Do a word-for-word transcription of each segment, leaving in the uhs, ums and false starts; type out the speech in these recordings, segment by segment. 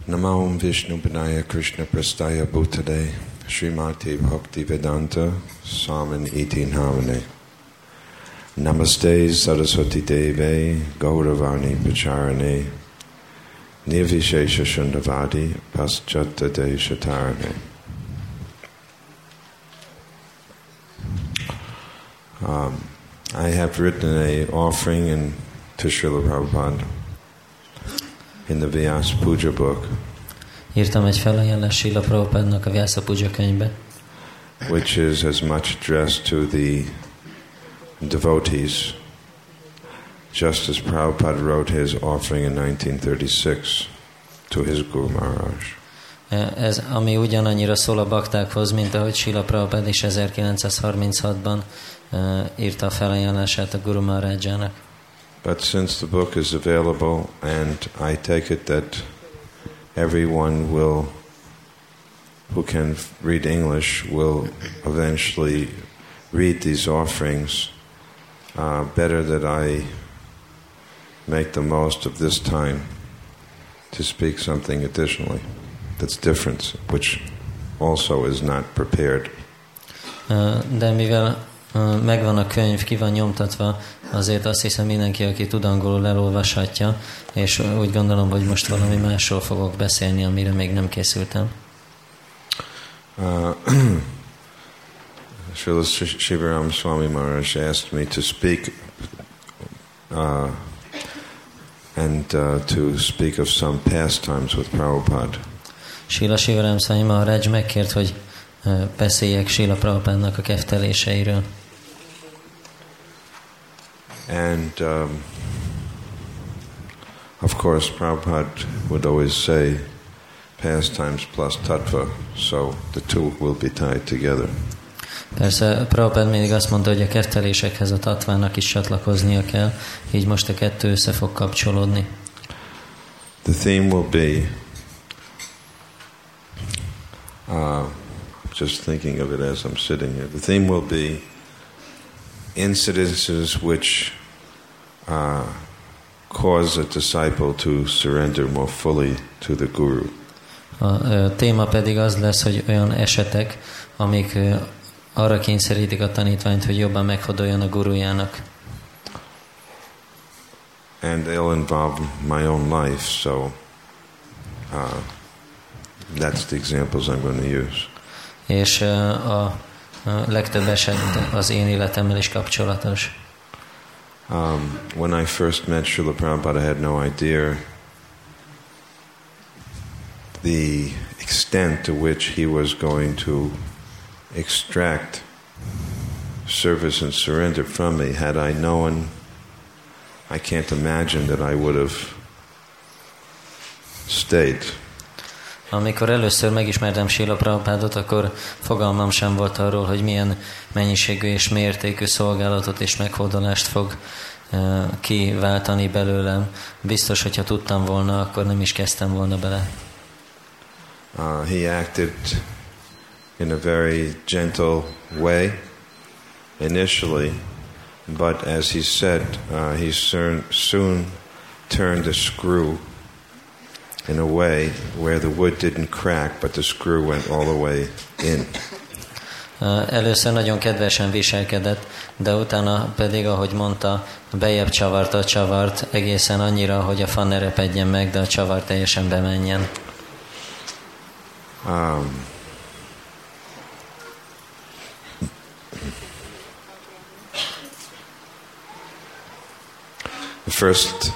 Namo Vishnupadaya Krishna Prastaya Bhutale Srimati Bhakti Vedanta Swamin Iti Namane Namaste Saraswati Deve Gauravani Pacharane Nirvishesha Shundavadi Paschata Deshatarane. Um, I have written an offering in to Srila Prabhupada in the Vyasa Puja book. Írtam egy felajánlást Srila Prabhupádnak a Vyasa Puja könyvbe, which is as much addressed to the devotees, just as Prabhupada wrote his offering in nineteen thirty-six to his Guru Maharaj. Ez, ami ugyanannyira szól a baktákhoz, mint ahogy Srila Prabhupada is ezerkilencszázharminchatban uh, írta a felajánlását a Guru Maharajjának. But since the book is available, and I take it that everyone will, who can read English, will eventually read these offerings, uh, better that I make the most of this time to speak something additionally that's different, which also is not prepared. Uh, de mivel uh, megvan a könyv, ki van nyomtatva, azért azt hiszem mindenki, aki tud angolul, elolvashatja, és úgy gondolom, hogy most valami másról fogok beszélni, amire még nem készültem. Uh, Srila Shivaram Swami Maharaj asked me to speak uh, and uh, to speak of some pastimes with Prabhupada. Srila Shivaram Swami Maharaj megkért, hogy uh, beszéljek Srila Prabhupádnak a kefteléseiről. And um, of course Prabhupada would always say pastimes plus tattva, so the two will be tied together. Persze Prabhupada mindig azt mondta, hogy a keftelésekhez a tatvának is csatlakoznia kell, így most a kettő össze fog kapcsolódni. The theme will be, uh, just thinking of it as I'm sitting here, the theme will be incidences which uh, cause a disciple to surrender more fully to the Guru. A, a téma pedig az lesz, hogy olyan esetek, amik uh, arra kényszerítik a tanítványt, hogy jobban meghódoljon a gurujának. And they'll involve my own life, so uh, that's the examples I'm going to use. És uh, a, a legtöbb eset az én életemmel is kapcsolatos. Um, when I first met Srila Prabhupada, I had no idea the extent to which he was going to extract service and surrender from me. Had I known, I can't imagine that I would have stayed. Amikor először megismertem Srila Prabhupádot, akkor fogalmam sem volt arról, hogy milyen mennyiségű és mértékű szolgálatot és meghódolást fog uh, kiváltani belőlem. Biztos, hogyha tudtam volna, akkor nem is kezdtem volna bele. Uh, he acted in a very gentle way initially, but as he said, uh, he soon, soon turned the screw in a way where the wood didn't crack, but the screw went all the way in. Először nagyon kedvesen viselkedett, de utána pedig, ahogy mondta, bejebb csavarta a csavart egészen annyira, hogy a fa ne repedjen meg, de a csavar teljesen bemenjen. Um, the first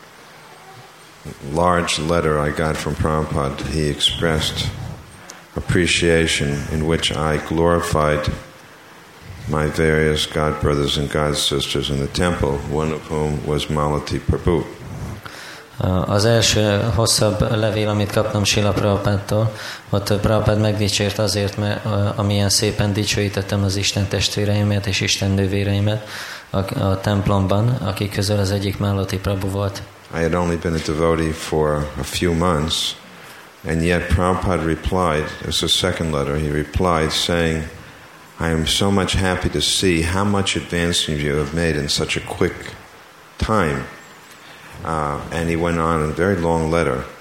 large letter I got from Prabhupada, he expressed appreciation in which I glorified my various god brothers and god sisters in the temple, one of whom was Malati Prabhu. Az első hosszabb levél, amit kaptam Srila Prabhupádtól, ott Prabhupád megdicsért azért, mert amilyen szépen dicsőítettem az Isten testvéreimet és Isten nővéreimet a, a templomban, akik közül az egyik Malati Prabhu volt. I had only been a devotee for a few months, and yet Prabhupada replied, it was the second letter, he replied saying, I am so much happy to see how much advancement you have made in such a quick time. Uh, and he went on in a very long letter.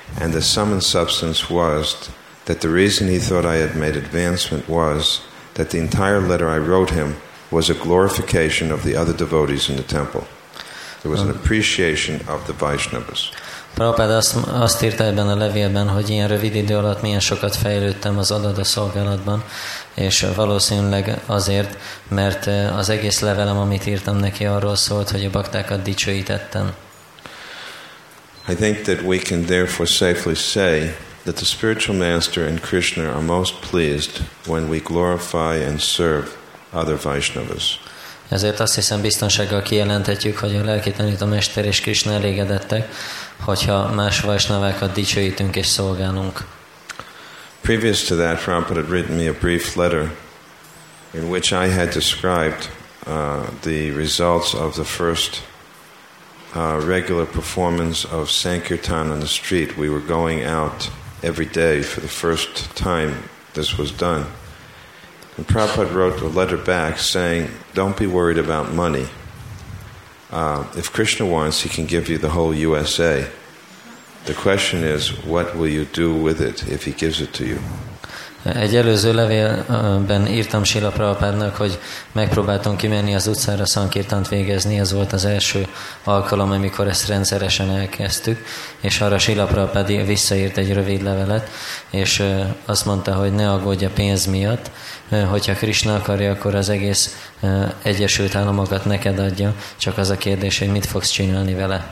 And the sum and substance was that the reason he thought I had made advancement was that the entire letter I wrote him was a glorification of the other devotees in the temple. There was an appreciation of the Vaishnavas. Prabhupád azt, azt írta ebben a levélben, hogy ilyen rövid idő alatt milyen sokat fejlődtem az adada szolgálatban, és valószínűleg azért, mert az egész levelem, amit írtam neki, arról szólt, hogy a baktákat dicsőítettem. I think that we can therefore safely say that the spiritual master and Krishna are most pleased when we glorify and serve other Vaishnavas. Ezért azt hiszem biztonsággal kijelenthetjük, hogy a lelki tanítómester és Krishna elégedettek, hogyha más Vaisnavákat dicsőítünk és szolgálunk. Previous to that, Prabhupada had written me a brief letter in which I had described uh, the results of the first uh, regular performance of Sankirtan on the street. We were going out every day for the first time this was done. And Prabhupada wrote a letter back saying, don't be worried about money. Uh, if Krishna wants, he can give you the whole U S A. The question is, what will you do with it if he gives it to you? Egy előző levélben írtam Srila Prabhupádnak, hogy megpróbáltam kimenni az utcára szankirtant végezni, ez volt az első alkalom, amikor ezt rendszeresen elkezdtük, és arra Srila Prabhupád visszaírt egy rövid levelet, és azt mondta, hogy ne aggódj a pénz miatt, hogyha Krishna akarja, akkor az egész Egyesült Államokat neked adja, csak az a kérdés, hogy mit fogsz csinálni vele.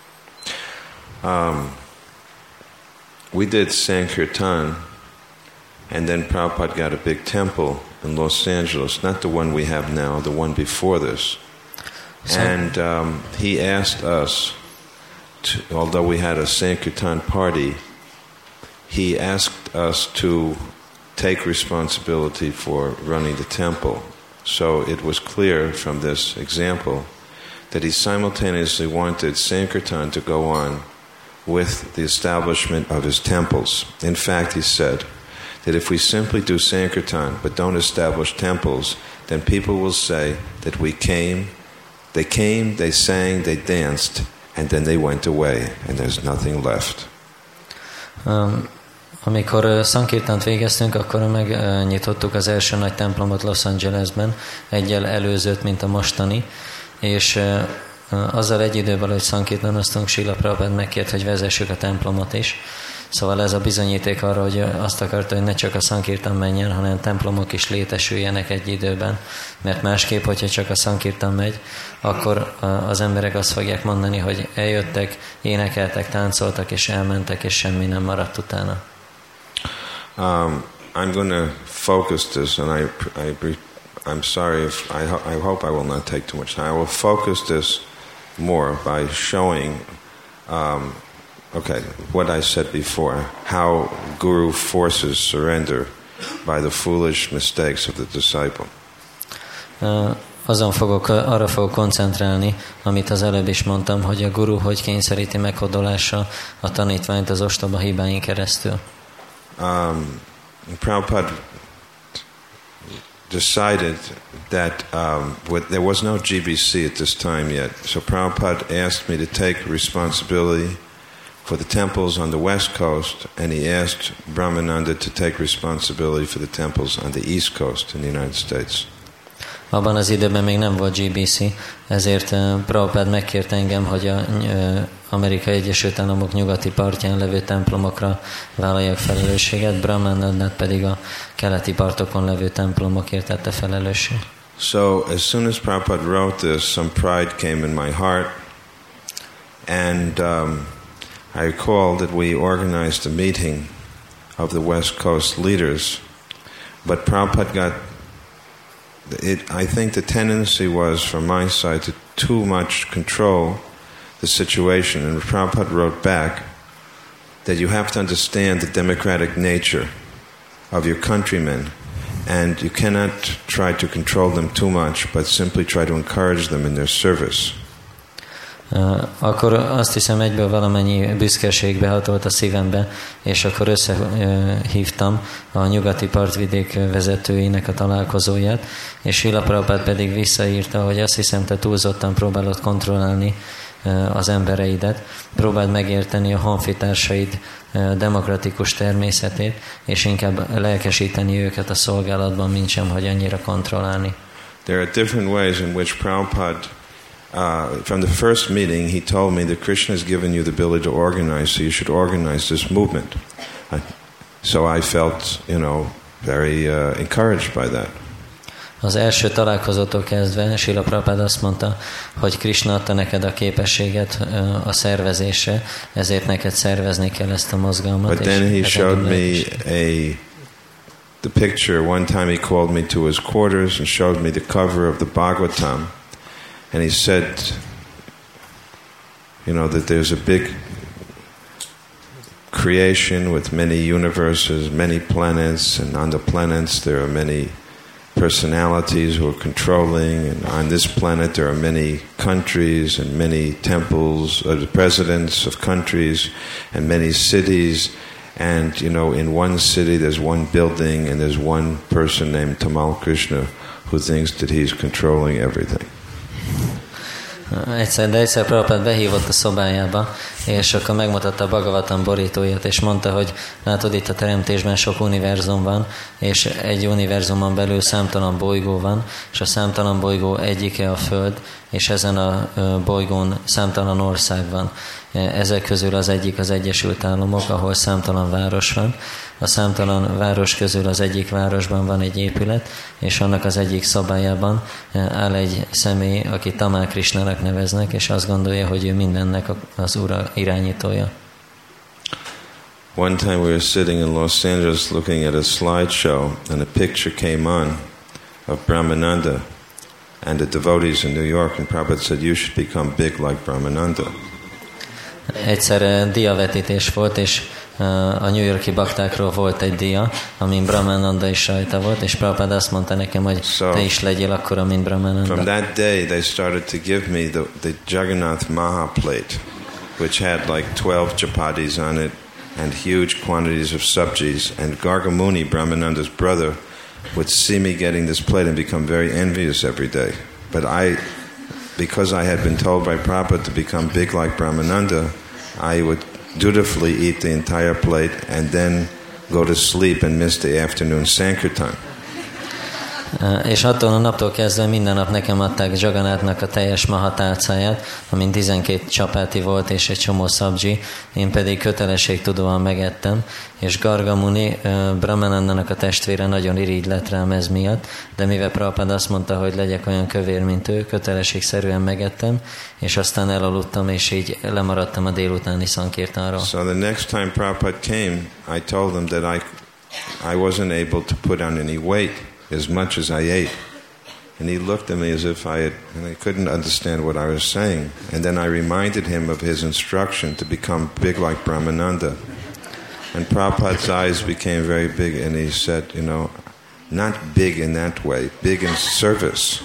Um, we did Sankirtan, and then Prabhupada got a big temple in Los Angeles, not the one we have now, the one before this. So, and um, he asked us, to, although we had a Sankirtan party, he asked us to take responsibility for running the temple. So it was clear from this example that he simultaneously wanted Sankirtan to go on with the establishment of his temples. In fact, he said that if we simply do Sankirtan but don't establish temples, then people will say that we came, they came, they sang, they danced, and then they went away, and there's nothing left. Um. Amikor Sankirtant végeztünk, akkor megnyitottuk az első nagy templomot Los Angelesben, egyel előzőt, mint a mostani, és azzal egy időben, hogy Sankirtanoztunk, Srila Prabhupád megkért, hogy vezessük a templomot is. Szóval ez a bizonyíték arra, hogy azt akarta, hogy ne csak a Sankirtan menjen, hanem templomok is létesüljenek egy időben. Mert másképp, hogyha csak a Sankirtan megy, akkor az emberek azt fogják mondani, hogy eljöttek, énekeltek, táncoltak és elmentek, és semmi nem maradt utána. Um, I'm going to focus this, and I, I, I'm sorry if I, ho- I hope I will not take too much time. I will focus this more by showing, um, okay, what I said before, how Guru forces surrender by the foolish mistakes of the disciple. Uh, azon fogok, arra fogok koncentrálni, amit az előbb is mondtam, hogy a Guru hogy kényszeríti meghódolásra a tanítványt az ostoba hibáin keresztül. Um, Prabhupada decided that um, with, there was no G B C at this time yet, so Prabhupada asked me to take responsibility for the temples on the west coast, and he asked Brahmananda to take responsibility for the temples on the east coast in the United States. Abban az időben még nem volt G B C, ezért uh, Prabhupád megkért engem, hogy a uh, Amerikai Egyesült Államok nyugati partján levő templomokra vállaljak felelősséget, Brahmanandát pedig a keleti partokon levő templomokért tette felelősség. So as soon as Prabhupada wrote this, some pride came in my heart, and um, I recall that we organized a meeting of the West Coast leaders, but Prabhupada got It, I think the tendency was from my side to too much control the situation, and Prabhupada wrote back that you have to understand the democratic nature of your countrymen, and you cannot try to control them too much, but simply try to encourage them in their service. Uh, akkor azt hiszem egyből valamennyi büszkeség behatolt a szívembe, és akkor összehívtam uh, a nyugati partvidék vezetőinek a találkozóját, és Srila Prabhupád pedig visszaírta, hogy azt hiszem, te túlzottan próbálod kontrollálni uh, az embereidet, próbáld megérteni a honfitársaid demokratikus természetét, és inkább lelkesíteni őket a szolgálatban, mint sem, hogy annyira kontrollálni. There are different ways in which Prabhupada, uh, from the first meeting, he told me that Krishna has given you the ability to organize, so you should organize this movement. Uh, so I felt, you know, very uh, encouraged by that. Az első találkozótól kezdve Srila Prabhupada azt mondta, hogy Krishna adta neked a képességet a szervezésre, ezért neked szervezni kell ezt a mozgalmat. But then he showed me a the picture. One time he called me to his quarters and showed me the cover of the Bhagavatam, and he said, you know, that there's a big creation with many universes, many planets, and on the planets there are many personalities who are controlling, and on this planet there are many countries and many temples, uh, the presidents of countries and many cities, and you know, in one city there's one building and there's one person named Tamal Krishna who thinks that he's controlling everything. Egyszer, de egyszer Prabhupád behívott a szobájába, és akkor megmutatta a Bhagavatam borítóját, és mondta, hogy látod, itt a teremtésben sok univerzum van, és egy univerzumon belül számtalan bolygó van, és a számtalan bolygó egyike a Föld, és ezen a bolygón számtalan ország van. Ezek közül az egyik az Egyesült Államok, ahol számtalan város van. A számtalan város közül az egyik városban van egy épület, és annak az egyik szobájában áll egy személy, aki Tamal Krishnának neveznek, és azt gondolja, hogy ő mindennek az ura irányítója. One time we were sitting in Los Angeles looking at a slideshow, and a picture came on of Brahmananda and the devotees in New York, and Prabhupada said, you should become big like Brahmananda. Egyszer diavetítés volt, és a New Yorki baktákról volt egy dia, amin Brahmananda is rajta volt, és Prabhupada azt mondta nekem, hogy so, te is legyél akkora, mint Brahmananda. From that day they started to give me the, the Jagannath Maha plate, which had like twelve chapatis on it and huge quantities of sabjis, and Gargamuni, Brahmananda's brother, would see me getting this plate and become very envious every day. But I, because I had been told by Prabhupada to become big like Brahmananda, I would dutifully eat the entire plate and then go to sleep and miss the afternoon Sankirtan. És attól a naptól kezdve minden nap nekem adták Jagannatnak a teljes maha tálcáját, amin tizenkét csapáti volt és egy csomó szabdzsi, én pedig kötelességtudóan megettem, és Gargamuni, Brahmanandának a testvére nagyon irigy lett rám ez miatt, de mivel Prabhupada azt mondta, hogy legyek olyan kövér, mint ő, kötelességszerűen megettem, és aztán elaludtam, és így lemaradtam a délutáni szankirtánról. So the next time Prabhupada came, I told him that I, I wasn't able to put on any weight as much as I ate. And he looked at me as if I had, and I couldn't understand what I was saying. And then I reminded him of his instruction to become big like Brahmananda. And Prabhupada's eyes became very big, and he said, you know, not big in that way, big in service.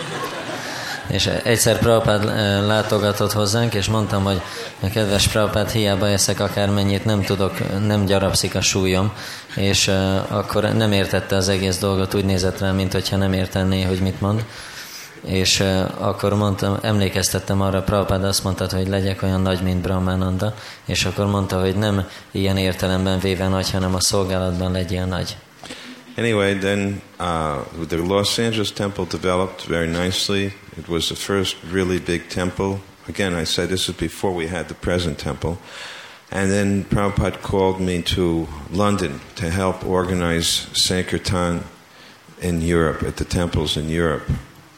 És egyszer Prabhupád látogatott hozzánk, és mondtam, hogy kedves Prabhupád, hiába eszek akármennyit, nem tudok, nem gyarapszik a súlyom, és uh, akkor nem értette az egész dolgot, úgy nézett rá, mint hogyha nem értené, hogy mit mond. És uh, akkor mondtam, emlékeztettem arra, Prabhupád azt mondta, hogy legyek olyan nagy, mint Brahmananda, és akkor mondta, hogy nem ilyen értelemben véve nagy, hanem a szolgálatban legyél nagy. Anyway, then uh, the Los Angeles temple developed very nicely. It was the first really big temple. Again, I said this is before we had the present temple. And then Prabhupada called me to London to help organize Sankirtan in Europe, at the temples in Europe.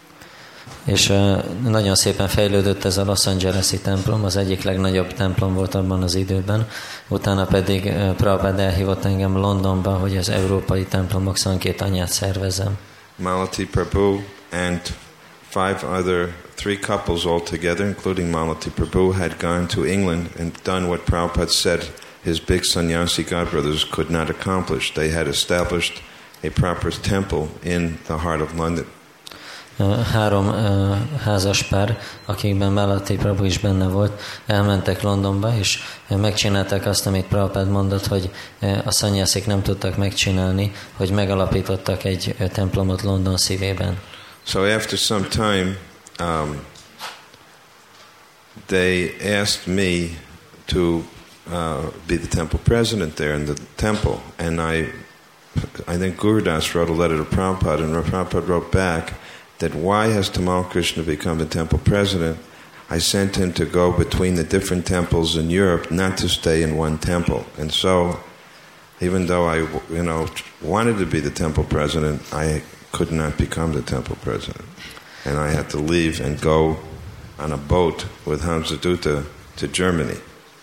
És uh, nagyon szépen fejlődött ez a Los Angeles-i templom, az egyik legnagyobb templom volt abban az időben. Utána pedig uh, Prabhupada elhívott engem Londonba, hogy az európai templomok szankirtánját szervezzem. Malati Prabhu and five other, three couples altogether, including Malati Prabhu, had gone to England and done what Prabhupada said his big sannyasi godbrothers could not accomplish. They had established a proper temple in the heart of London. Három uh, házas pár, akikben Malati Prabhu is benne volt, elmentek Londonba, és megcsinálták azt, amit Prabhupada mondott, hogy a szanyászik nem tudtak megcsinálni, hogy megalapítottak egy templomot London szívében. So after some time, um, they asked me to uh, be the temple president there in the temple. And I, I think Gurudas wrote a letter to Prabhupada, and Prabhupada wrote back that why has Tamal Krishna become the temple president? I sent him to go between the different temples in Europe, not to stay in one temple. And so, even though I, you know, wanted to be the temple president, I could not become the temple president. And I had to leave and go on a boat with Hamsadutta to Germany.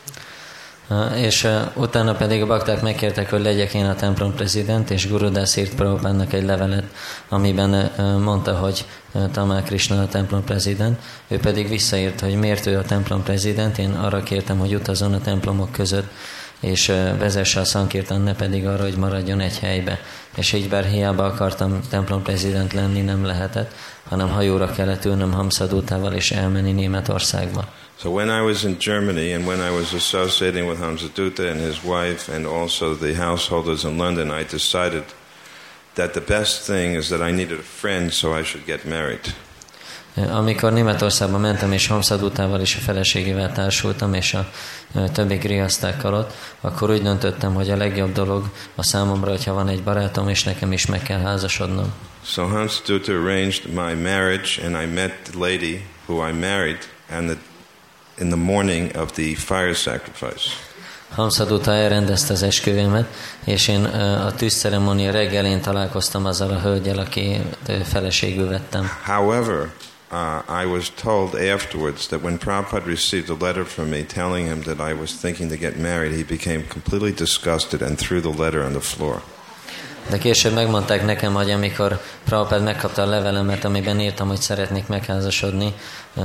Uh, és uh, utána pedig a bakták megkértek, hogy legyek én a templom prezident, és Gurudász írt Prabhupádnak egy levelet, amiben uh, mondta, hogy uh, Tamal Krishna a templom prezident. Ő pedig visszaírt, hogy miért ő a templom prezident. Én arra kértem, hogy utazzon a templomok között, és uh, vezesse a szankirtan, ne pedig arra, hogy maradjon egy helybe. És így bár hiába akartam templom prezident lenni, nem lehetett, hanem hajóra kellett ülnöm Hamsadutával és elmenni Németországba. So when I was in Germany and when I was associating with Hamsadutta and his wife and also the householders in London, I decided that the best thing is that I needed a friend, so I should get married. Amikor Németországba mentem, és Hamsadutával és a feleségével társultam, és a többi griasztákkal ott, akkor úgy döntöttem, hogy a legjobb dolog a számomra, hogyha van egy barátom, és nekem is meg kell házasodnom. So Hamsadutta arranged my marriage, and I met the lady who I married and the in the morning of the fire sacrifice. Hamsadutta elrendezte az esküvőmet, és én a tűzceremónia reggelén találkoztam azzal a hölgyel, aki feleségül vettem. However, uh, I was told afterwards that when Prabhupada received a letter from me telling him that I was thinking to get married, he became completely disgusted and threw the letter on the floor. De később megmondták nekem, hogy amikor Prabhupád megkapta a levelemet, amiben írtam, hogy szeretnék megházasodni,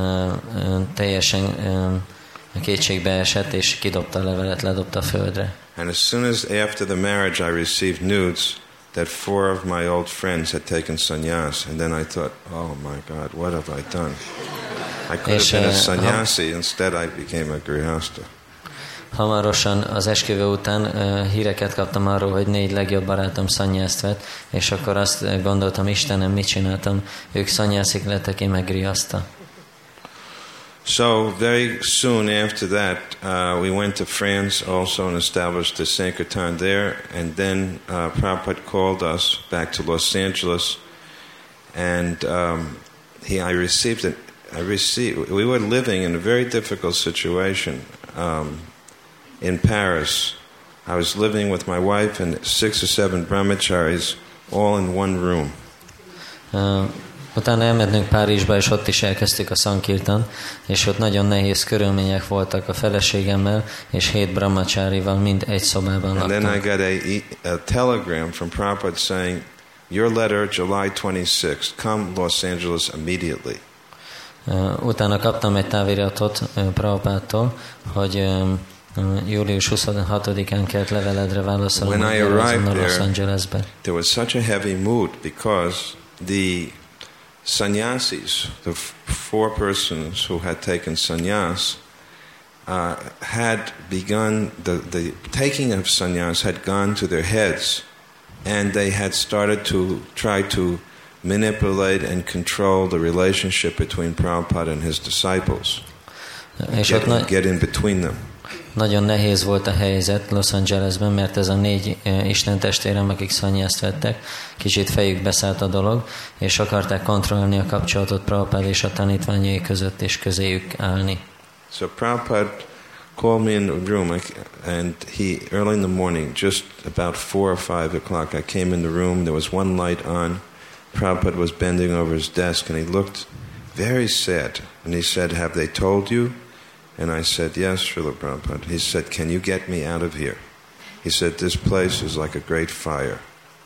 teljesen kétségbe esett, és kidobta a levelet, ledobta a földre. And as soon as after the marriage I received news that four of my old friends had taken sannyas, and then I thought, oh my God, what have I done? I could have been a sannyasi, instead I became a grihasta. Hamarosan az esküvő után uh, híreket kaptam arról, hogy négy legjobb barátom szanyjászt vett, és akkor azt gondoltam, Istenem, mit csináltam? Ők szanyjászik lettek, én meg grihasta. So very soon after that, uh, we went to France also and established the Sankirtan there, and then uh, Prabhupada called us back to Los Angeles, and um, he, I received it. I received. We were living in a very difficult situation. Um, In Paris, I was living with my wife and six or seven brahmacharis, all in one room. Uh, utána elmentünk Párizsba, és ott is elkezdtük a szankirtan, és ott nagyon nehéz körülmények voltak a feleségemmel, és hét brahmacharival mind egy szobában laktunk. And then I got a, a telegram from Prabhupada saying, your letter, July twenty-sixth, come Los Angeles immediately. Uh, utána kaptam egy táviratot uh, Prabhupádtól, hogy um, július huszonhatodikán kelt leveledre válaszolni a Los Angelesbe. There was such a heavy mood because the sannyasis, the four persons who had taken sannyas, uh, had begun, the, the taking of sannyas had gone to their heads, and they had started to try to manipulate and control the relationship between Prabhupada and his disciples. Get, get in between them. Nagyon nehéz volt a helyzet Los Angelesben, mert ez a négy Isten testvérem, akik szanyjászt vettek, kicsit fejükbe szállt a dolog, és akarták kontrollálni a kapcsolatot Prabhupád és a tanítványai között, és közéjük állni. So Prabhupada called me in the room, and he, early in the morning, just about four or five o'clock, I came in the room, there was one light on, Prabhupada was bending over his desk, and he looked very sad, and he said, have they told you? And I said, yes, Srila Prabhupada. He said, can you get me out of here? He said, this place is like a great fire.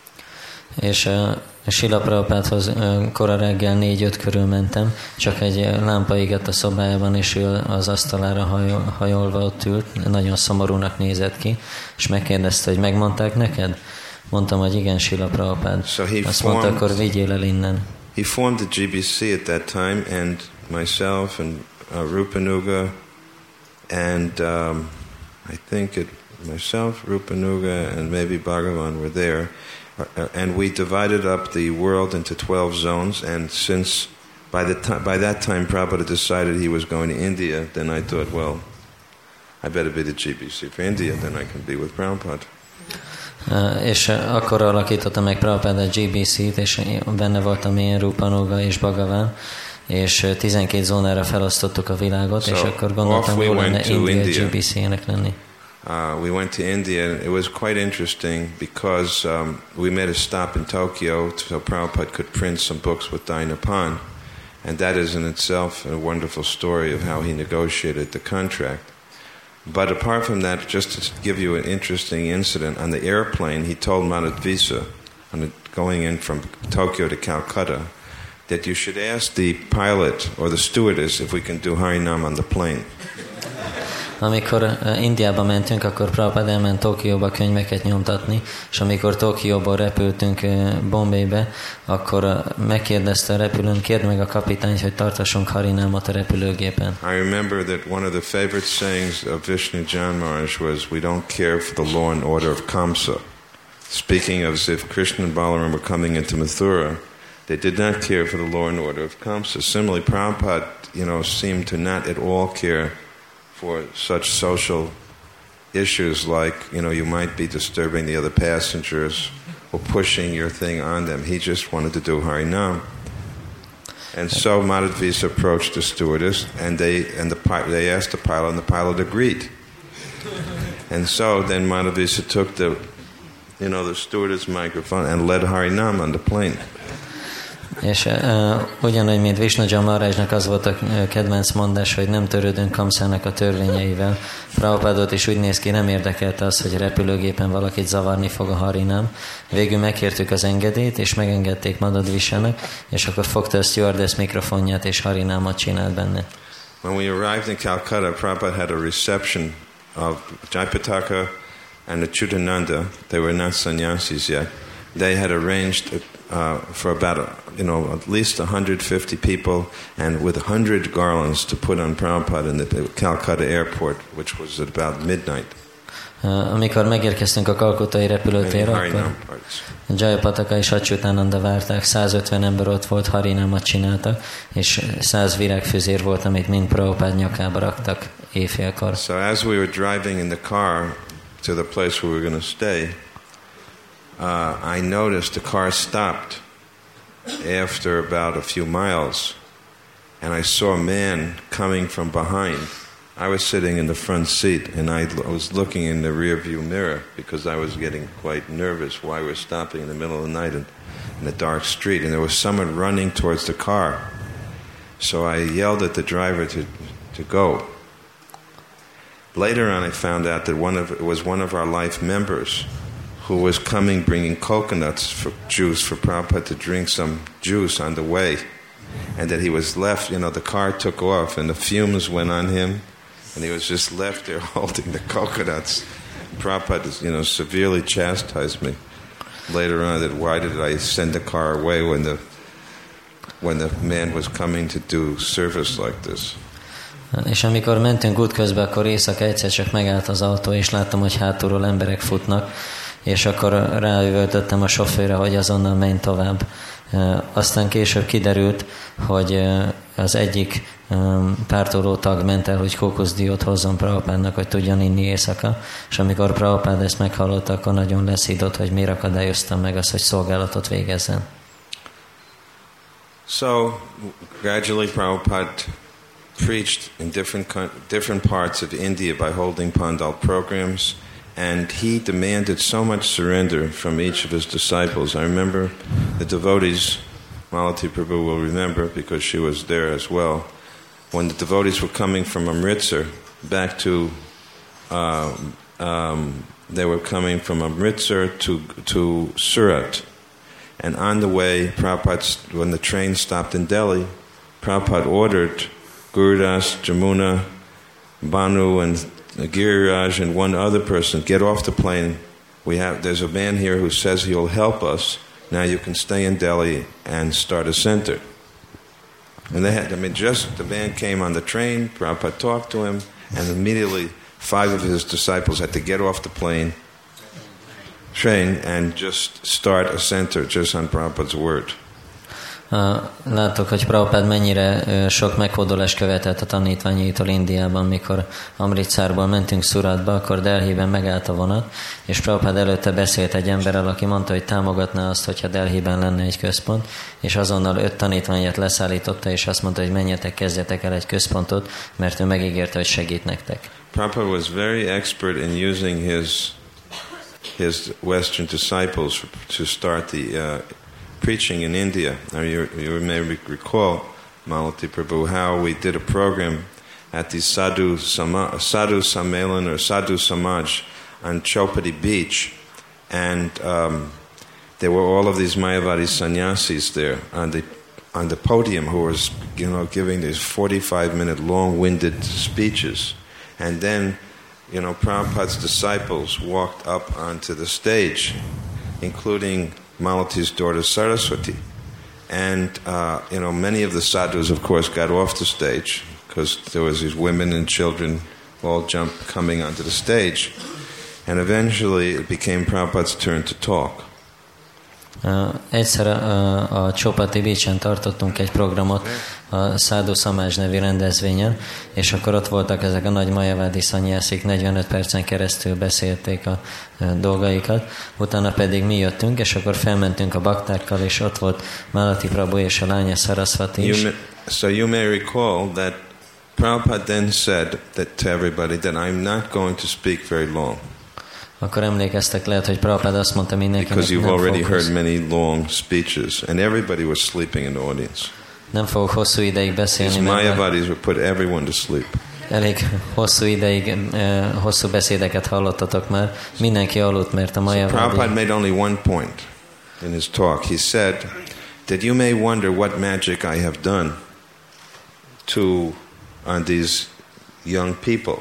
És uh, Srila Prabhupádhoz uh, kora reggel négy-öt körül mentem, csak egy lámpa égett a szobájában, és ő az asztalára hajol, hajolva ott ült, nagyon szomorúnak nézett ki, és megkérdezte, hogy megmondták neked? Mondtam, hogy igen, Srila Prabhupád. So Azt formed, mondta, akkor vigyél el innen. He formed the G B C at that time, and myself and uh, Rupanuga, and um, I think it myself, Rupanuga, and maybe Bhagavan were there, uh, and we divided up the world into twelve zones. And since by the time by that time Prabhupada decided he was going to India, then I thought, well, I better be the G B C for India, then I can be with Prabhupada. Uh, és uh, akkor alakította meg Prabhupada a G B C-t, és benne voltam én, Rupa Nuga és Bhagavan, és uh, tizenkét zónára felosztottuk a világot, so és akkor gondoltam, hogy we lenne India G B C-nek lenni. Uh, we went to India, and it was quite interesting because um, we made a stop in Tokyo so Prabhupada could print some books with Dainapan, and that is in itself a wonderful story of how he negotiated the contract. But apart from that, just to give you an interesting incident, on the airplane he told Madhvisa, going in from Tokyo to Calcutta, that you should ask the pilot or the stewardess if we can do Harinam on the plane. Amikor uh, Indiába mentünk, akkor Prabhupada elment Tokióba könyveket nyomtatni, és amikor Tokióból repültünk uh, Bombaybe, akkor uh, megkérdezte a repülőn, kérd meg a kapitányt, hogy tartassunk Harinámot a repülőgépen. I remember that one of the favorite sayings of Vishnu Jan Maharaj was, we don't care for the law and order of Kamsa. Speaking of as if Krishna and Balaram were coming into Mathura, they did not care for the law and order of Kamsa. Similarly, Prabhupada, you know, seemed to not at all care for such social issues like, you know, you might be disturbing the other passengers or pushing your thing on them. He just wanted to do Harinam. And so Madhvisa approached the stewardess, and they and the they asked the pilot, and the pilot agreed. And so then Madhvisa took the, you know, the stewardess microphone and led Harinam on the plane. És uh, ugyanúgy, mint Vishnu Maharajnak az volt a kedvenc mondás, hogy nem törődünk Kamszának a törvényeivel. Prabhupádot is úgy néz ki, nem érdekelte az, hogy repülőgépen valakit zavarni fog a Harinám. Végül megkértük az engedélyt, és megengedték Madhvisának, és akkor fogta a stewardess mikrofonját, és Harinámot csinált benne. When we arrived in Calcutta, Prabhupada had a reception of Jayapataka and the Chutananda. They were not sannyasis yet. They had arranged uh, for about, a, you know, at least one hundred fifty people and with one hundred garlands to put on Prabhupada in the Calcutta airport, which was at about midnight. Uh, amikor megérkeztünk a kalkuttai repülőtérre, akkor Jayapataka és Achyutananda várták, százötven ember ott volt, Harinámat csináltak, és száz virágfüzér volt, amit mind Prabhupád nyakába raktak éjfélkor. So as we were driving in the car to the place where we were going to stay, uh, I noticed the car stopped after about a few miles, and I saw a man coming from behind. I was sitting in the front seat, and I was looking in the rear view mirror because I was getting quite nervous why we're stopping in the middle of the night in, in a dark street, and there was someone running towards the car. So I yelled at the driver to, to go. Later on, I found out that one of it was one of our life members who was coming bringing coconuts for juice for Prabhupada to drink some juice on the way, and that he was left, you know, the car took off and the fumes went on him, and he was just left there holding the coconuts. Prabhupada, you know, severely chastised me later on that why did I send the car away when the when the man was coming to do service like this. És amikor mentünk útközben, akkor éjszaka egyszer csak megállt az autó, és láttam, hogy hátulról emberek futnak, és akkor ráüvöltöttem a sofőrre, hogy azonnal menj tovább. Aztán később kiderült, hogy az egyik pártoló tag ment el, hogy kókuszdiót hozzon Prabhupádnak, hogy tudjon inni éjszaka, és amikor Prabhupád ezt meghallotta, akkor nagyon leszított, hogy miért akadályoztam meg azt, hogy szolgálatot végezzen. So, gradually Prabhupada preached in different different parts of India by holding Pandal programs, and he demanded so much surrender from each of his disciples. I remember the devotees, Malati Prabhu will remember because she was there as well, when the devotees were coming from Amritsar back to, uh, um, they were coming from Amritsar to, to Surat. And on the way, Prabhupada, when the train stopped in Delhi, Prabhupada ordered Gurudas, Jamuna, Banu, and Giriraj, and one other person, get off the plane. We have there's a man here who says he'll help us. Now you can stay in Delhi and start a center. And they had, I mean, just the man came on the train. Prabhupada talked to him, and immediately five of his disciples had to get off the plane, train, and just start a center just on Prabhupada's word. Láttuk, hogy Prabhupád mennyire sok meghódolást követett a tanítványaitól Indiában, mikor Amritsarból mentünk Suratba, akkor Delhiben megállt a vonat, és Prabhupád előtte beszélt egy emberrel, aki mondta, hogy támogatná azt, hogyha Delhiben lenne egy központ, és azonnal öt tanítványát leszállította, és azt mondta, hogy menjetek, kezdjetek el egy központot, mert ő megígérte, hogy segít nektek. Prabhupada was very expert in using his his Western disciples to start the uh, preaching in India. Now you, you may recall, Malati Prabhu, how we did a program at the Sadhu, Sama, Sadhu Sammelan or Sadhu Samaj on Chowpatty Beach, and um, there were all of these Mayavadi sannyasis there on the on the podium who was, you know, giving these forty-five minute long-winded speeches, and then, you know, Prabhupada's disciples walked up onto the stage, including Malati's daughter Saraswati. And, uh, you know, many of the sadhus, of course, got off the stage because there was these women and children all jumped coming onto the stage. And eventually it became Prabhupada's turn to talk. Uh, egyszer uh, a Chowpatty Beach-en tartottunk egy programot a Sadhu Samaj nevű rendezvényen, és akkor ott voltak ezek a nagy majavádi szanyászik, negyvenöt percen keresztül beszélték a uh, dolgaikat, utána pedig mi jöttünk, és akkor felmentünk a baktákkal, és ott volt Malati Prabhu és a lánya Saraswati is. May, so you may recall that Prabhupada then said that to everybody that I'm not going to speak very long. Akkor emlékeztek, lehet, hogy Prabhupád azt mondta mindenkinek, because you've nem already fogok heard many long speeches, and everybody was sleeping in the audience. Nem fogok hosszú ideig beszélni. These Mayavadis would put everyone to sleep. Elég hosszú ideig, eh, hosszú beszédeket hallottatok már. Mindenki aludt, mert a Mayavadi... So Prabhupada made only one point in his talk. He said that you may wonder what magic I have done to on these young people.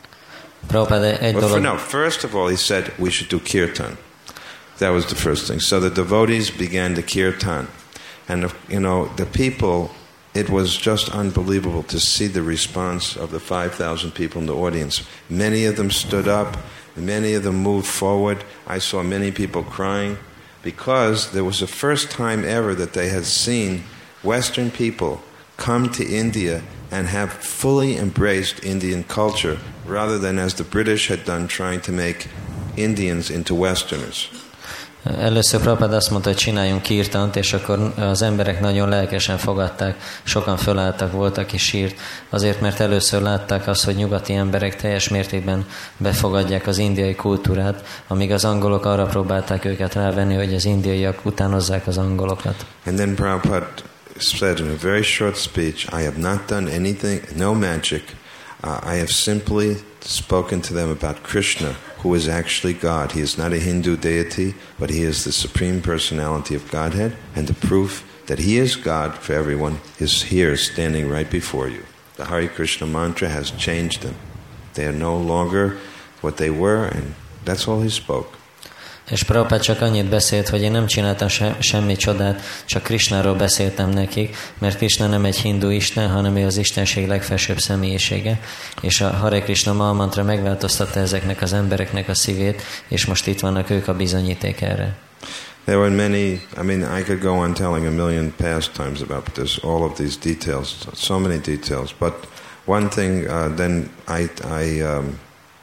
Egy well, dolog... for, no, first of all, he said we should do kirtan. That was the first thing. So the devotees began the kirtan. And, you know, the people, it was just unbelievable to see the response of the five thousand people in the audience. Many of them stood up. Many of them moved forward. I saw many people crying because there was the first time ever that they had seen Western people come to India and have fully embraced Indian culture rather than as the British had done, trying to make Indians into Westerners. Először Prabhupád azt mondta, hogy csináljunk kirtant, és akkor az emberek nagyon lelkesen fogadták, sokan fölálltak, voltak és sírt, azért, mert először látták azt, hogy nyugati emberek teljes mértékben befogadják az indiai kultúrát, amíg az angolok arra próbálták őket rávenni, hogy az indiaiak utánozzák az angolokat. And then Prabhupada said in a very short speech, I have not done anything, no magic. Uh, I have simply spoken to them about Krishna, who is actually God. He is not a Hindu deity, but he is the supreme personality of Godhead, and the proof that he is God for everyone is here, standing right before you. The Hare Krishna mantra has changed them. They are no longer what they were, and that's all he spoke. És Prabhupád csak annyit beszélt, hogy én nem csináltam se, semmi csodát, csak Krishnáról beszéltem nekik, mert Krishna nem egy hindu isten, hanem ő az istenség legfelsőbb személyisége, és a Hare Krishna mantra megváltoztatta ezeknek az embereknek a szívét, és most itt vannak ők a bizonyíték erre. There were many, I mean, I could go on telling a million pastimes about this, all of these details, so many details, but one thing, uh, then I, I um,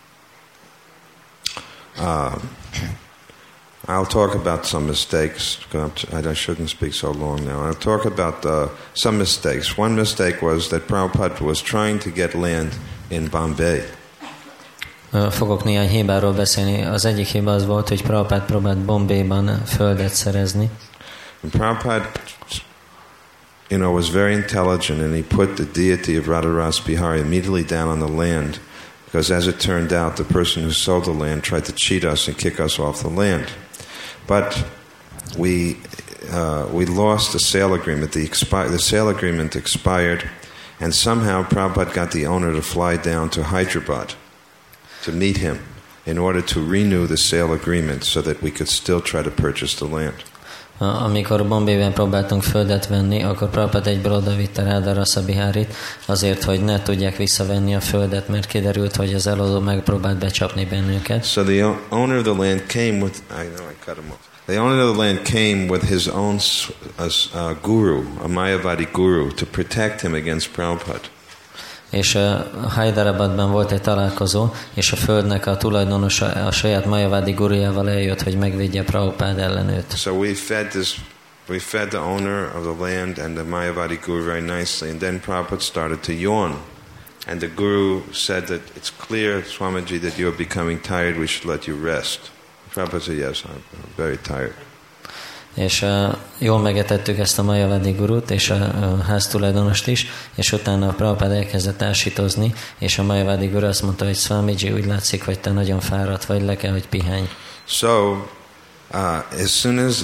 uh, I'll talk about some mistakes. I shouldn't speak so long now. I'll talk about uh, some mistakes. One mistake was that Prabhupada was trying to get land in Bombay. Fogok néhány hibáról beszélni. Az egyik hiba az volt, hogy Prabhupada próbált Bombayban földet szerezni. And Prabhupada, you know, was very intelligent, and he put the deity of Radharas Bihari immediately down on the land, because as it turned out, the person who sold the land tried to cheat us and kick us off the land. But we uh, we lost the sale agreement. The, expi- the sale agreement expired, and somehow Prabhupada got the owner to fly down to Hyderabad to meet him in order to renew the sale agreement so that we could still try to purchase the land. Amikor Bombayben próbáltunk földet venni, akkor Prabhupada egyből odavitte Radharasa Biharit azért, hogy ne tudják visszavenni a földet, mert kiderült, hogy az eladó megpróbált becsapni bennünket. So the owner of the land came with, I know I cut him off. the owner of the land came with his own uh, uh, guru, a Mayavadi guru, to protect him against Prabhupada. És uh, Hyderabadban volt egy találkozó, és a földnek a tulajdonosa a saját Mayavadi gurujával eljött, hogy megvédje Prabhupád ellen őt. So we fed this, we fed the owner of the land and the Mayavadi guru very nicely, and then Prabhupada started to yawn. And the guru said that it's clear, Swamiji, that you are becoming tired, we should let you rest. Prabhupada said, yes, I'm very tired. És uh, jól megetettük ezt a Mayavadi gurut, és a, a háztulajdonost is, és utána a Prabhupád elkezdett ásítozni, és a Mayavadi guru azt mondta, hogy Swamiji, úgy látszik, hogy te nagyon fáradt vagy, le kell, hogy pihenj. So, uh, as soon as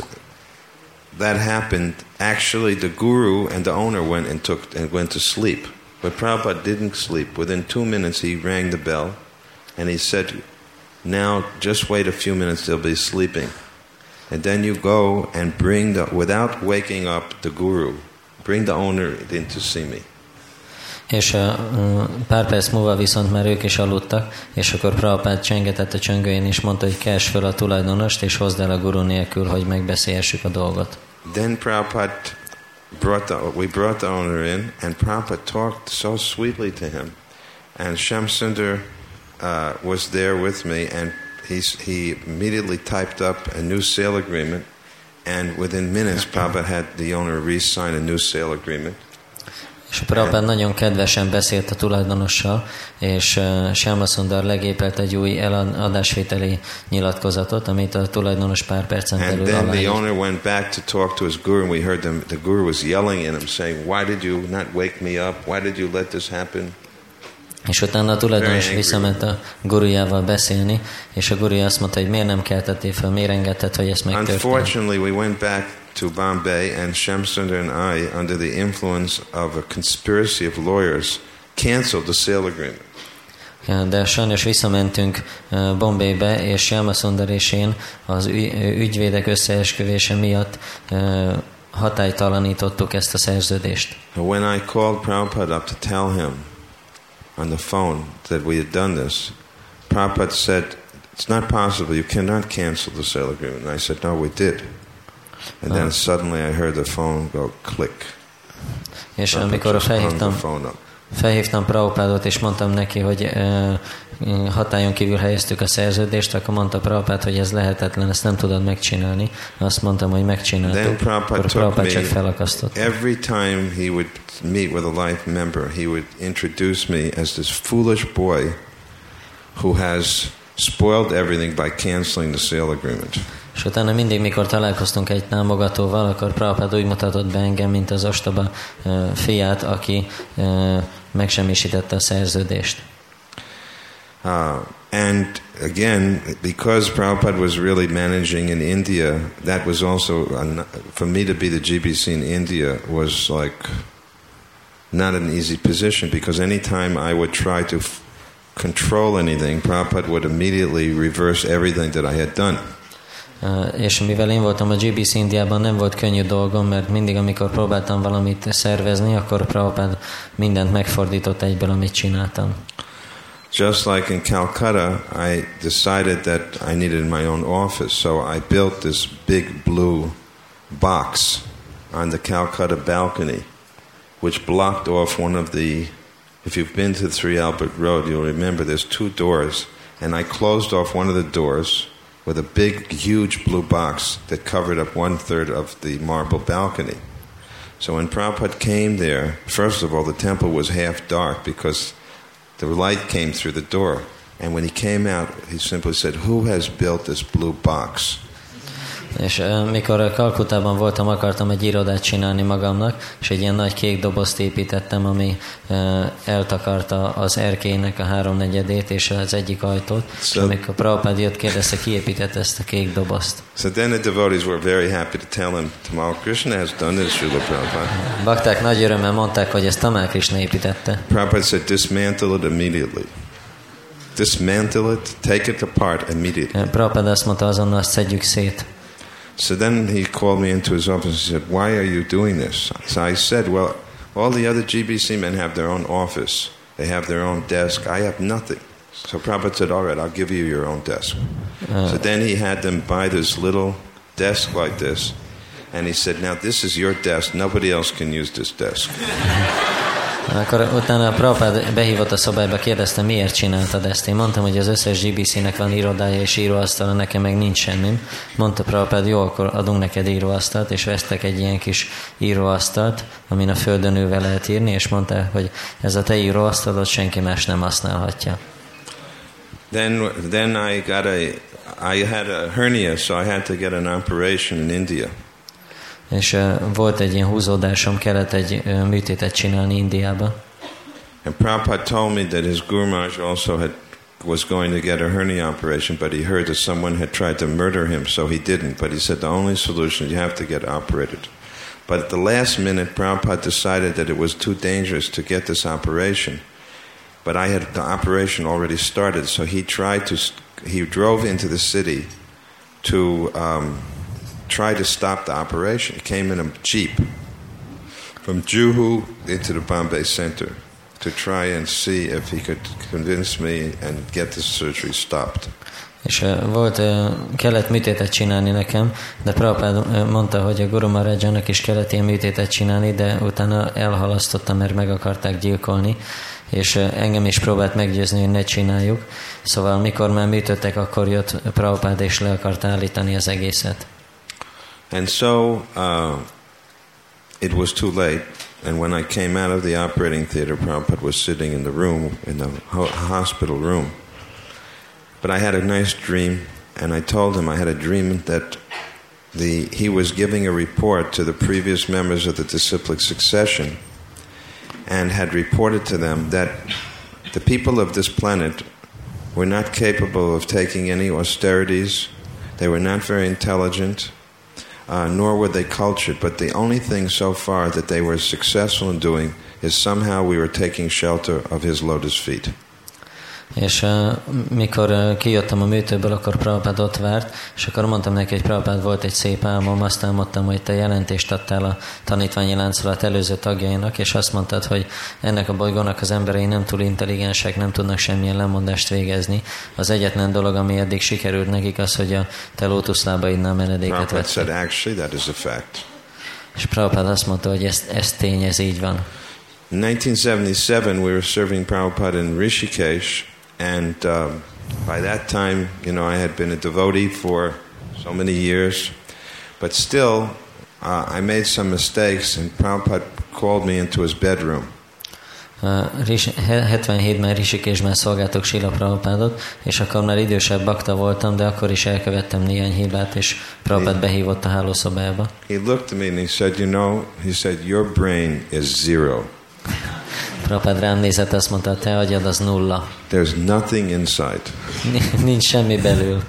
that happened, actually the guru and the owner went and took and went to sleep. But Prabhupada didn't sleep. Within two minutes he rang the bell, and he said, now just wait a few minutes, they'll be sleeping. And then you go and bring the, without waking up the guru, bring the owner in to see me. És uh, pár perc múlva viszont már ők is aludtak, és akkor Prabhupád csengetett a csöngőjén, és mondta, hogy kers föl a tulajdonost, és hozd el a guru nélkül, hogy megbeszélhessük a dolgot. Then Prabhupada brought the, we brought the owner in, and Prabhupada talked so sweetly to him. And Shamsundar uh, was there with me, and He's, he immediately typed up a new sale agreement, and within minutes Prabhupada had the owner re-sign a new sale agreement. És a Prabhupád nagyon kedvesen beszélt a tulajdonossal, és uh, Shamsundar legépelt egy új eladásvételi nyilatkozatot, amit a tulajdonos pár percen belül aláírt. And then the aláírt. owner went back to talk to his guru, and we heard them, the guru was yelling at him, saying, why did you not wake me up? Why did you let this happen? És utána a tulajdonos visszament a gurujával beszélni, és a guruja azt mondta, hogy miért nem keltettél fel, miért engedted, hogy ezt megtörtént. Unfortunately, we went back to Bombay, and Shamsundar and I, under the influence of a conspiracy of lawyers, canceled the sale agreement. Ja, de sajnos visszamentünk uh, Bombaybe, és Shamsundar és én az ügy, ügyvédek összeesküvése miatt uh, hatálytalanítottuk ezt a szerződést. When I called Prabhupada up to tell him on the phone that we had done this, Prabhupada said, it's not possible, you cannot cancel the sale agreement. And I said, no, we did. And then uh. suddenly I heard the phone go click. És amikor felhívtam, felhívtam Prabhupádot, és mondtam neki, hogy uh, hatályon kívül helyeztük a szerződést, akkor mondta Prabhupád, hogy ez lehetetlen, ezt nem tudod megcsinálni. Azt mondtam, hogy megcsináltuk, akkor Prabhupád csak felakasztott. Every time he would meet with a life member, he would introduce me as this foolish boy who has spoiled everything by canceling the sale agreement. És utána mindig, mikor találkoztunk egy támogatóval, akkor Prabhupád úgy mutatott be engem, mint az ostoba uh, fiát, aki uh, megsemmisítette a szerződést. Uh, and again, because Prabhupada was really managing in India, that was also, a, for me to be the G B C in India was like not an easy position, because anytime I would try to f- control anything, Prabhupada would immediately reverse everything that I had done. Uh, és mivel én voltam a G B C Indiában, nem volt könnyű dolgom, mert mindig, amikor próbáltam valamit szervezni, akkor Prabhupada mindent megfordított egyből, amit csináltam. Just like in Calcutta, I decided that I needed my own office, so I built this big blue box on the Calcutta balcony, which blocked off one of the, if you've been to three Albert Road, you'll remember there's two doors, and I closed off one of the doors with a big, huge blue box that covered up one-third of the marble balcony. So when Prabhupada came there, first of all, the temple was half dark because the light came through the door. And when he came out, he simply said, who has built this blue box? És uh, mikor Kalkutában voltam, akartam egy irodát csinálni magamnak, és egy ilyen nagy kék dobozt építettem, ami uh, eltakarta az erkélynek a háromnegyedét és az egyik ajtót. So, és amikor Prabhupád jött, kérdezte, ki építette ezt a kék dobozt. So then the devotees were very happy to tell him, Tamal Krishna has done this, Srila Prabhupada. Bakták nagy örömmel mondták, hogy ezt Tamal Krishna építette. Prabhupada said, dismantle it immediately. Dismantle it, take it apart immediately. Prabhupád azt mondta, azonnal azt szedjük szét. So then he called me into his office and said, why are you doing this? So I said, well, all the other G B C men have their own office. They have their own desk. I have nothing. So Prabhupada said, all right, I'll give you your own desk. Uh, so then he had them buy this little desk like this, and he said, now this is your desk, nobody else can use this desk. Akkor utána a Prabhupád behívott a szobába, kérdezte, miért csináltad ezt. Én mondtam, hogy az összes gé bé cé-nek van irodája és íróasztala, nekem meg nincs semmim. Mondta Prabhupád, jó, akkor adunk neked íróasztalt, és vesztek egy ilyen kis íróasztalt, amin a földön ülve lehet írni, és mondta, hogy ez a te íróasztalod senki más nem használhatja. Then, then I got a, I had a hernia, so I had to get an operation in India. És uh, volt egy ilyen húzódásom, kellett egy uh, műtétet csinálni Indiába. And Prabhupada told me that his Guru Maharaj also had was going to get a hernia operation, but he heard that someone had tried to murder him, so he didn't. But he said the only solution, you have to get operated. But at the last minute, Prabhupada decided that it was too dangerous to get this operation. But I had the operation already started, so he tried to, he drove into the city to um, try to stop the operation. He came in a jeep from Juhu into the Bombay Center to try and see if he could convince me and get the surgery stopped. És uh, volt, uh, kellett műtétet csinálni nekem, de Prabhupád uh, mondta, hogy a Guru Maharajnak is kellett ilyen műtétet csinálni, de utána elhalasztotta, mert meg akarták gyilkolni, és uh, engem is próbált meggyőzni, hogy ne csináljuk. Szóval mikor már műtöttek, akkor jött Prabhupád és le akart állítani az egészet. And so uh, it was too late, and when I came out of the operating theater, Prabhupada was sitting in the room, in the ho- hospital room. But I had a nice dream, and I told him I had a dream that the he was giving a report to the previous members of the disciplic succession, and had reported to them that the people of this planet were not capable of taking any austerities, they were not very intelligent, Uh, nor were they cultured, but the only thing so far that they were successful in doing is somehow we were taking shelter of his lotus feet. És uh, mikor uh, kijöttem a műtőből, akkor Prabhupád ott várt, és akkor mondtam neki, hogy Prabhupád, volt egy szép álmom, azt álmodtam, hogy te jelentést adtál a tanítványi láncolat előző tagjainak, és azt mondtad, hogy ennek a bolygónak az emberei nem túl intelligensek, nem tudnak semmilyen lemondást végezni. Az egyetlen dolog, ami eddig sikerült nekik, az, hogy a te lótuszlábaidnál menedéket vettek. Actually, that is a fact. És Prabhupád azt mondta, hogy ez, ez tény, ez így van. In nineteen seventy-seven, we were serving Prabhupada in Rishikesh. And uh, by that time, you know, I had been a devotee for so many years. But still, uh, I made some mistakes, and Prabhupada called me into his bedroom. hetvenhétben Rishikeshben szolgáltuk Srila Prabhupádot, és akkor már idősebb bakta voltam, de akkor is elkövettem néhány hibát, és Prabhupád behívott a hálószobába. He looked at me and he said, you know, he said, your brain is zero. Prabhupád rám nézett, azt mondta, te agyad az nulla. There's nothing inside. Nincs semmi belül.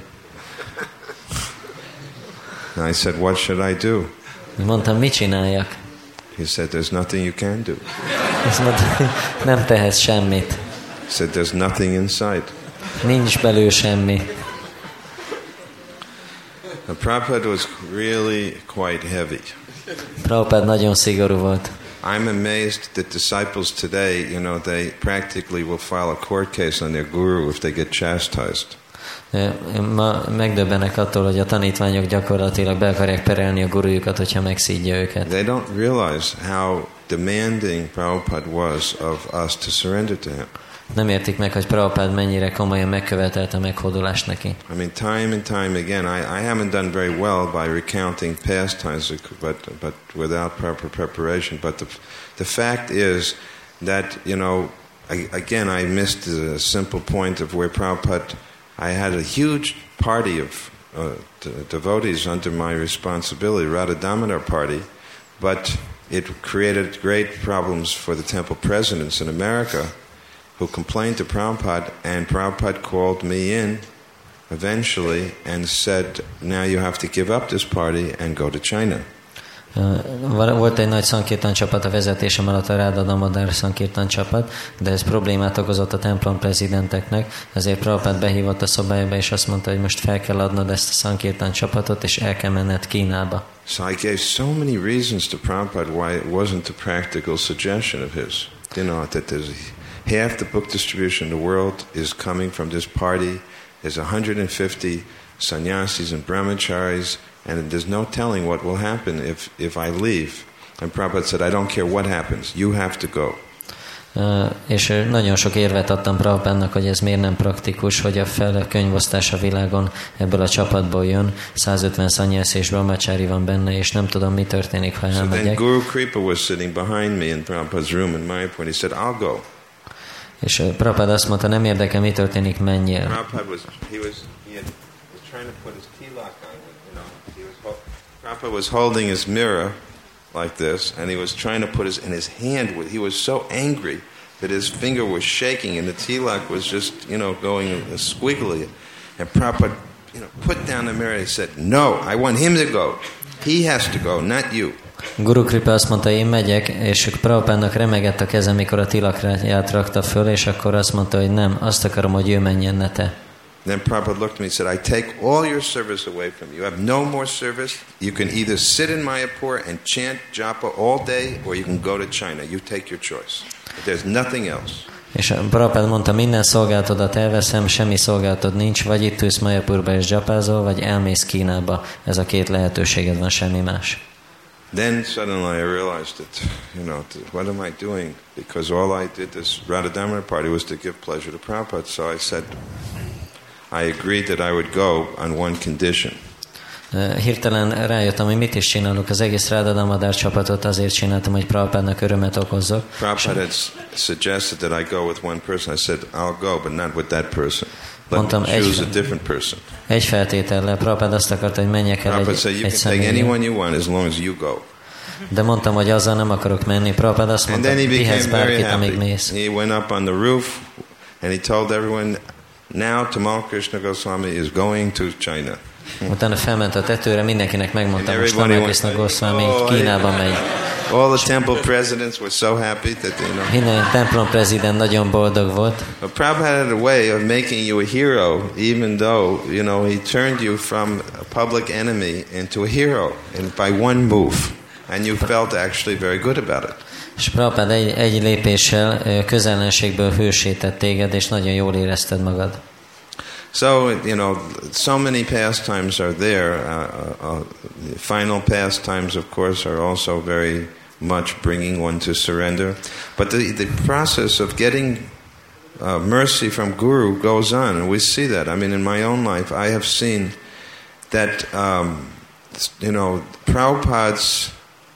And I said, what should I do? Mondtam, mit csináljak? He said, there's nothing you can do. Azt mondta, nem tehetsz semmit. He said, there's nothing inside. Nincs belül semmi. Now, Prabhupada was really quite heavy. Prabhupád nagyon szigorú volt. I'm amazed that disciples today, you know, they practically will file a court case on their guru if they get chastised. Ma megdöbbenek attól, hogy a tanítványok gyakorlatilag be akarják perelni a gurujukat, hogyha megszídja őket. They don't realize how demanding Prabhupada was of us to surrender to him. Nem értik meg, hogy Prabhupád mennyire komolyan megkövetelte a meghódulást neki. I mean, time and time again, I, I haven't done very well by recounting pastimes, but but without proper preparation. But the the fact is that, you know, I, again, I missed the simple point of where Prabhupada, I had a huge party of uh, devotees under my responsibility, Radha Damodar party, but it created great problems for the temple presidents in America, who complained to Prabhupada, and Prabhupada called me in eventually and said, now you have to give up this party and go to China. Volt egy nagy szankirtan csapat a vezetésem alatt, a Radha Damodar szankirtan csapat, de ez problémát okozott a templom prezidenteknek, ezért Prabhupád behívott a szobájába, és azt mondta, hogy most fel kell adnod ezt a szankirtan csapatot, és el kell menned Kínába. So I gave so many reasons to Prabhupada why it wasn't a practical suggestion of his. You know, that there's half the book distribution in the world is coming from this party. There's one hundred fifty sannyasis and brahmacharis, and there's no telling what will happen if, if I leave. And Prabhupada said, I don't care what happens, you have to go. Uh, és nagyon sok érvet adtam Prabhupádnak, hogy ez miért nem praktikus, hogy a fele könyvosztás a világon ebből a csapatból jön, százötven szanyász és brahmachari van benne, és nem tudom, mi történik, ha elmegyek. So then Guru Kripa was sitting behind me in Prabhupada's room in Mayapur, and he said, I'll go. És uh, Prabhupada azt mondta, nem érdekel, mi történik, menjél. Prabhupada was, he was, he had, was trying to put his tilak on, you know, he was, Prabhupada was holding his mirror like this, and he was trying to put his, in his hand, he was so angry that his finger was shaking, and the tilak was just, you know, going squiggly. And Prabhupada, you know, put down the mirror, he said, no, I want him to go. He has to go, not you. Guru Kripa azt mondta, én megyek, és Prabhupádnak remegett a kezem, mikor a tilakját rakta föl, és akkor azt mondta, hogy nem, azt akarom, hogy ő menjen, ne te. Then Prabhupada looked at me and said, I take all your service away from you. You have no more service. You can either sit in Mayapur and chant japa all day, or you can go to China. You take your choice. But there's nothing else. És Prabhupada mondta, minden szolgálatodat elveszem, semmi szolgálatod nincs, vagy itt ülsz Mayapurba és japázol, vagy elmész Kínába. Ez a két lehetőséged van, semmi más. Then suddenly I realized that, you know, what am I doing? Because all I did this Radha Damodar party was to give pleasure to Prabhupada. So I said, I agreed that I would go on one condition. Hirtelen rájöttem, hogy mit is csinálok. Az egész Radha Damodar csapatot azért csináltam, hogy Prabhupádnak örömet okozzak. Prabhupada had suggested that I go with one person. I said, I'll go, but not with that person. Let Mondtam, me choose egy, a different person. Egy feltétellel. Prabhupada azt akarta, hogy menjek el egy, said, you egy can take anyone személyre. you want as long as you go. De mondtam, hogy azzal nem akarok menni. Prabhupada azt mondta, vihetsz bárkit, amíg mész. He went up on the roof and he told everyone, now Tamal Krishna Goswami is going to China. Utána felment a tetőre, mindenkinek megmondtam, most Tamal Krishna Goswami Kínába megy. All the temple presidents were so happy that, you know. Minden templom prezident nagyon boldog volt. But Prabhupada had a way of making you a hero, even though, you know, he turned you from a public enemy into a hero and by one move. And you felt actually very good about it. És Prabhupada egy, egy lépéssel közellenségből hősített téged, és nagyon jól érezted magad. So, you know, so many pastimes are there. Uh, uh, the final pastimes, of course, are also very much bringing one to surrender. But the, the process of getting uh, mercy from Guru goes on, and we see that. I mean, in my own life, I have seen that, um, you know, Prabhupada's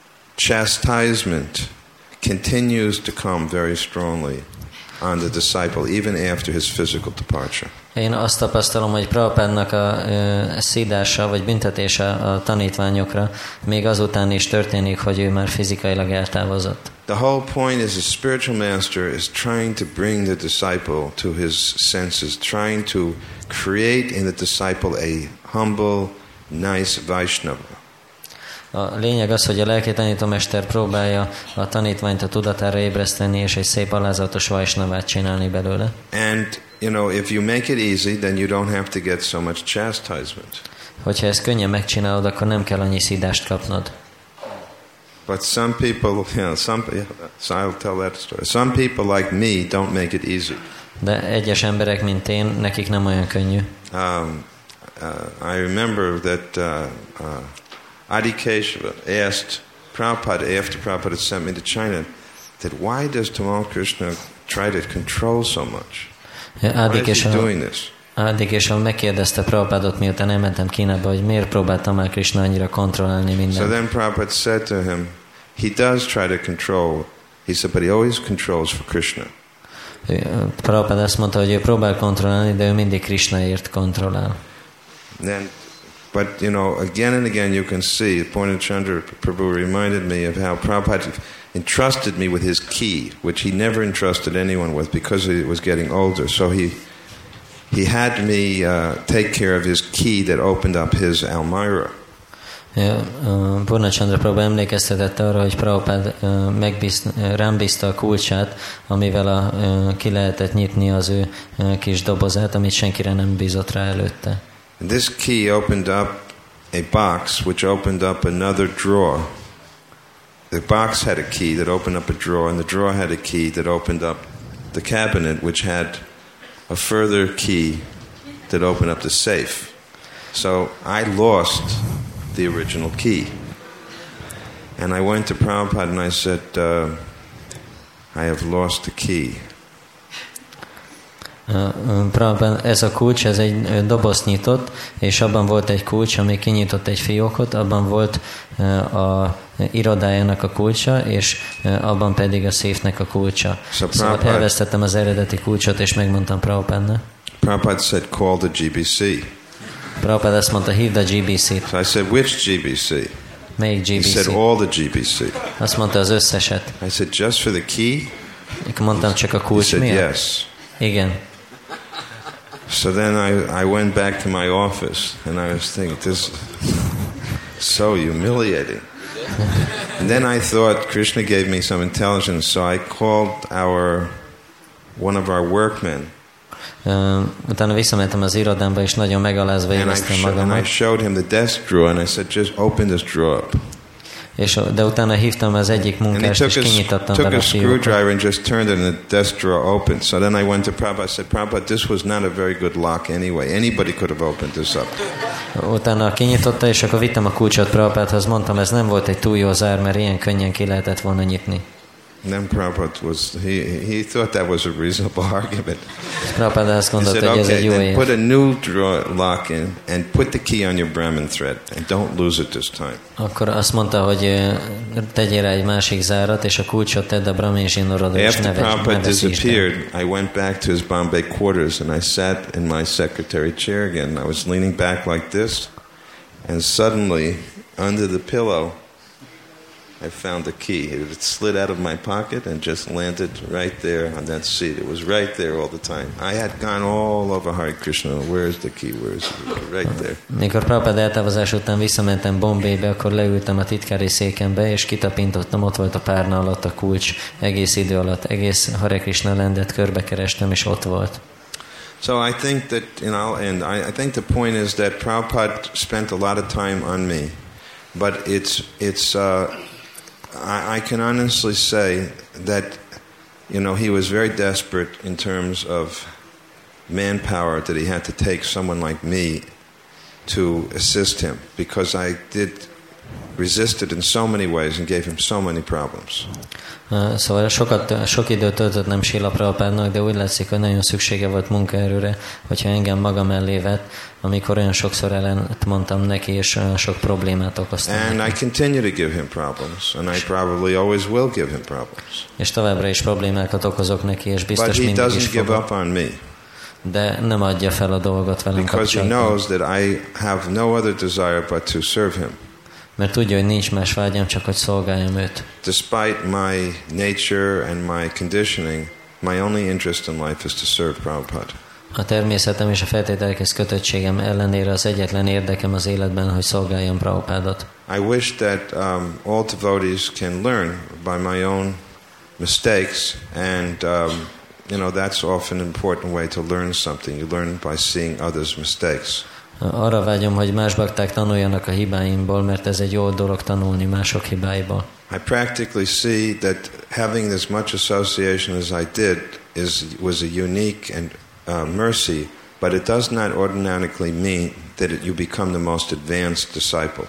chastisement continues to come very strongly on the disciple, even after his physical departure. Én azt tapasztalom, hogy Prabhupádnak a ö, szídása vagy büntetése a tanítványokra még azután is történik, hogy ő már fizikailag eltávozott. The whole point is a spiritual master is trying to bring the disciple to his senses, trying to create in the disciple a humble, nice Vaishnava. A lényeg az, hogy a lelki tanítómester próbálja a tanítványt a tudatára ébreszteni, és egy szép alázatos Vaishnavát csinálni belőle. And, you know, if you make it easy, then you don't have to get so much chastisement. Hogyha ezt könnyen megcsinálod, akkor nem kell annyi szídást kapnod. But some people, you know, some, so I'll tell that story. Some people like me don't make it easy. De egyes emberek, mint én, nekik nem olyan könnyű. Um, uh, I remember that uh, uh, Adi Keshava asked Prabhupada after Prabhupada had sent me to China that why does Tamal Krishna try to control so much? Why is he doing this? Adi Keshava megkérdezte Prabhupádot, miután elmentem Kínába, hogy miért próbált Tamal Krishna annyira kontrollálni mindent. So then Prabhupada said to him, he does try to control. He said, but he always controls for Krishna. Prabhupada azt mondta, hogy ő próbál kontrollálni, de ő mindig Krishnaért kontrollál. Then, but you know, again and again you can see, Purnachandra Prabhu reminded me of how Prabhupada entrusted me with his key, which he never entrusted anyone with because he was getting older. So he he had me uh, take care of his key that opened up his Almira. Purnachandra Prabhu emlékeztetett arra, hogy Prabhupád rám bízta a kulcsát, amivel a, ki lehetett nyitni az ő kis dobozát, amit senkire nem bízott rá előtte. And this key opened up a box which opened up another drawer. The box had a key that opened up a drawer, and the drawer had a key that opened up the cabinet, which had a further key that opened up the safe. So I lost the original key. And I went to Prabhupada and I said, uh, I have lost the key. Prabhupada, ez a kulcs, ez egy dobozt nyitott, és abban volt egy kulcs, ami kinyitott egy fiókot, abban volt a irodájának a kulcsa, és abban pedig a széfnek a kulcsa. So szóval elvesztettem az eredeti kulcsot, és megmondtam Prabhupada. Prabhupada said, call the G B C. Prabhupada azt mondta, hívd a G B C-t. So I said, which G B C? Melyik G B C? He said, all the G B C. Azt mondta, az összeset. I said, just for the key? Mondtam, csak a kulcs miatt? He said, miatt? yes. Igen. So then I, I went back to my office and I was thinking, this is so humiliating. And then I thought Krishna gave me some intelligence, so I called our one of our workmen. Uh, utána visszamentem az irodámba, és nagyon megalázva éreztem magamat. And I showed him the desk drawer, and I said, just open this drawer up. És, de utána hívtam az egyik munkást, és kinyitottam vele a fiókot. Took a screwdriver and just turned it, and the desk drawer opened. So then I went to Prabhupada. I said, Prabhupada, this was not a very good lock anyway. Anybody could have opened this up. Utána kinyitotta, és akkor vittem a kulcsot Prabhupádhoz, mondtam, ez nem volt egy túl jó zár, mert ilyen könnyen ki lehetett volna nyitni. And then Prabhupada was, he, he thought that was a reasonable argument. Prabhupada azt gondolta, said, hogy ez okay, egy jó érv. Put a new drawer lock in and put the key on your Brahmin thread and don't lose it this time. Akkor azt mondta, hogy tegyél rá egy másik zárat, és a kulcsot tedd a Brahmin zsinórodra, és ne Prabhupada disappeared, I went back to his Bombay quarters and I sat in my secretary chair again. I was leaning back like this, and suddenly, under the pillow, I found the key. It slid out of my pocket and just landed right there on that seat. It was right there all the time. I had gone all over Hare Krishna. Where's the key? Where's the key? Right there. Mikor Prabhupada eltávozás után visszamentem Bombaybe, akkor leültem a titkári székembe, és kitapintottam, ott volt a párna alatt a kulcs. Egész idő alatt, egész Hare Krishna landet körbekerestem, és ott volt. So I think that, and I'll end, I, I think the point is that Prabhupada spent a lot of time on me. But it's, it's, uh, I, I can honestly say that, you know, he was very desperate in terms of manpower, that he had to take someone like me to assist him, because I did resist it in so many ways and gave him so many problems. Uh, szóval sokat, sok időt töltöttem Srila Prabhupádnak, de úgy látszik, hogy nagyon szüksége volt munkaerőre, hogyha engem maga mellé vett, amikor olyan sokszor ellent mondtam neki, és olyan sok problémát okoztam. And neki. I continue to give him problems, and I probably always will give him problems. És továbbra is problémákat okozok neki, és biztos But mindig is he doesn't give fogok. up on me. De nem adja fel a dolgot velem Because kapcsolatban. he knows that I have no other desire but to serve him. Mert tudja, hogy nincs más vágyam, csak hogy szolgáljam őt. Despite my nature and my conditioning, my only interest in life is to serve Prabhupada. A természetem és a feltételekhez kötöttségem ellenére az egyetlen érdekem az életben, hogy szolgáljam Prabhupádot. I wish that um, all devotees can learn by my own mistakes, and um, you know, that's often an important way to learn something. You learn by seeing others' mistakes. Arra vágyom, hogy más bakták tanuljanak a hibáimból, mert ez egy jó dolog tanulni mások hibáiból. I practically see that having this much association as I did is was a unique and uh, mercy, but it does not automatically mean that it, you become the most advanced disciple.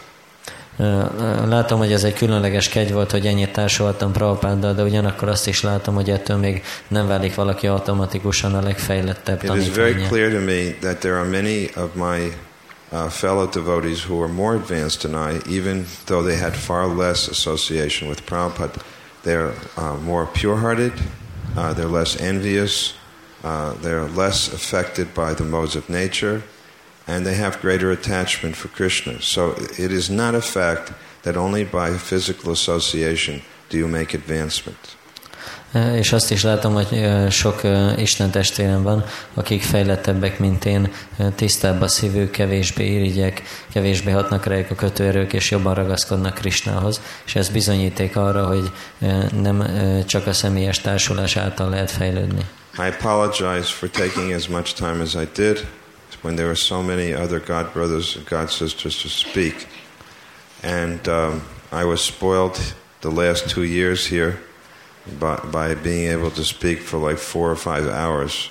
Látom, hogy ez egy különleges kegy volt, hogy ennyit társultam Prabhupáddal, de ugyanakkor azt is látom, hogy ettől még nem válik valaki automatikusan a legfejlettebb tanítványa. It is very clear to me that there are many of my uh, fellow devotees who are more advanced than I, even though they had far less association with Prabhupada. They're uh, more pure-hearted, uh, they're less envious, uh, they're less affected by the modes of nature, and they have greater attachment for Krishna. So it is not a fact that only by physical association do you make advancement. És azt is látom, hogy sok Isten testvérem van, akik fejlettebbek, mint én, tisztább a szívük, kevésbé irigyek, kevésbé hatnak rájuk a kötőerők, és jobban ragaszkodnak Krishnához. És ez bizonyíték arra, hogy nem csak a személyes társulás által lehet fejlődni. I apologize for taking as much time as I did, when there were so many other God brothers and God sisters to speak. And um, I was spoiled the last two years here by, by being able to speak for like four or five hours.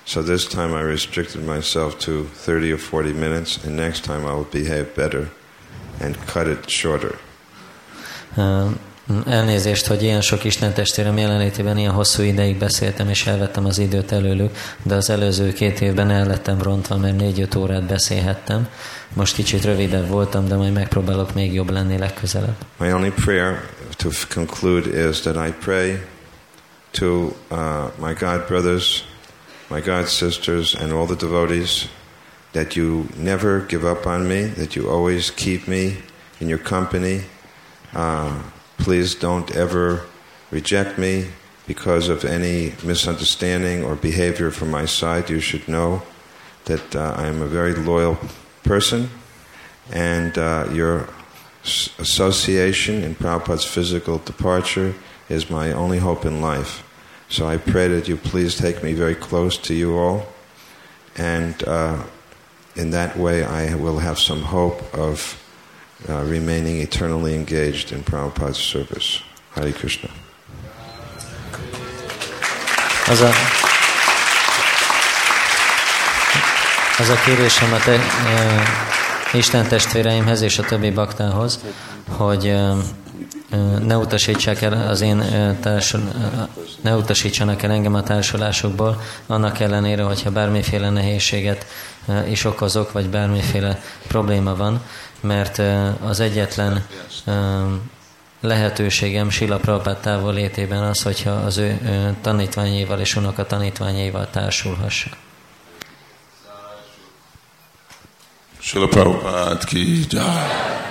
So this time I restricted myself to thirty or forty minutes, and next time I will behave better and cut it shorter. Uh, elnézést, hogy ilyen sok Isten testvérem jelenlétében ilyen hosszú ideig beszéltem, és elvettem az időt előlük, de az előző két évben el lettem rontva, mert négy-öt órát beszélhettem. Most kicsit rövidebb voltam, de majd megpróbálok még jobb lenni legközelebb. My only prayer to conclude is that I pray to uh, my God brothers, my God sisters, and all the devotees, that you never give up on me, that you always keep me in your company. Uh, please don't ever reject me because of any misunderstanding or behavior from my side. You should know that uh, I am a very loyal person, and uh, your association in Prabhupada's physical departure is my only hope in life. So I pray that you please take me very close to you all, and uh, in that way I will have some hope of uh, remaining eternally engaged in Prabhupada's service. Hare Krishna. Az a, az a kérésem a te, e, Isten testvéreimhez és a többi baktához, hogy e, ne utasítsák el az én társul, ne utasítsanak el engem a társulásokból, annak ellenére, hogyha bármiféle nehézséget is okozok, vagy bármiféle probléma van, mert az egyetlen lehetőségem Srila Prabhupád távollétében az, hogyha az ő tanítványaival és unoka tanítványaival társulhassak. Srila Prabhupada ki jai.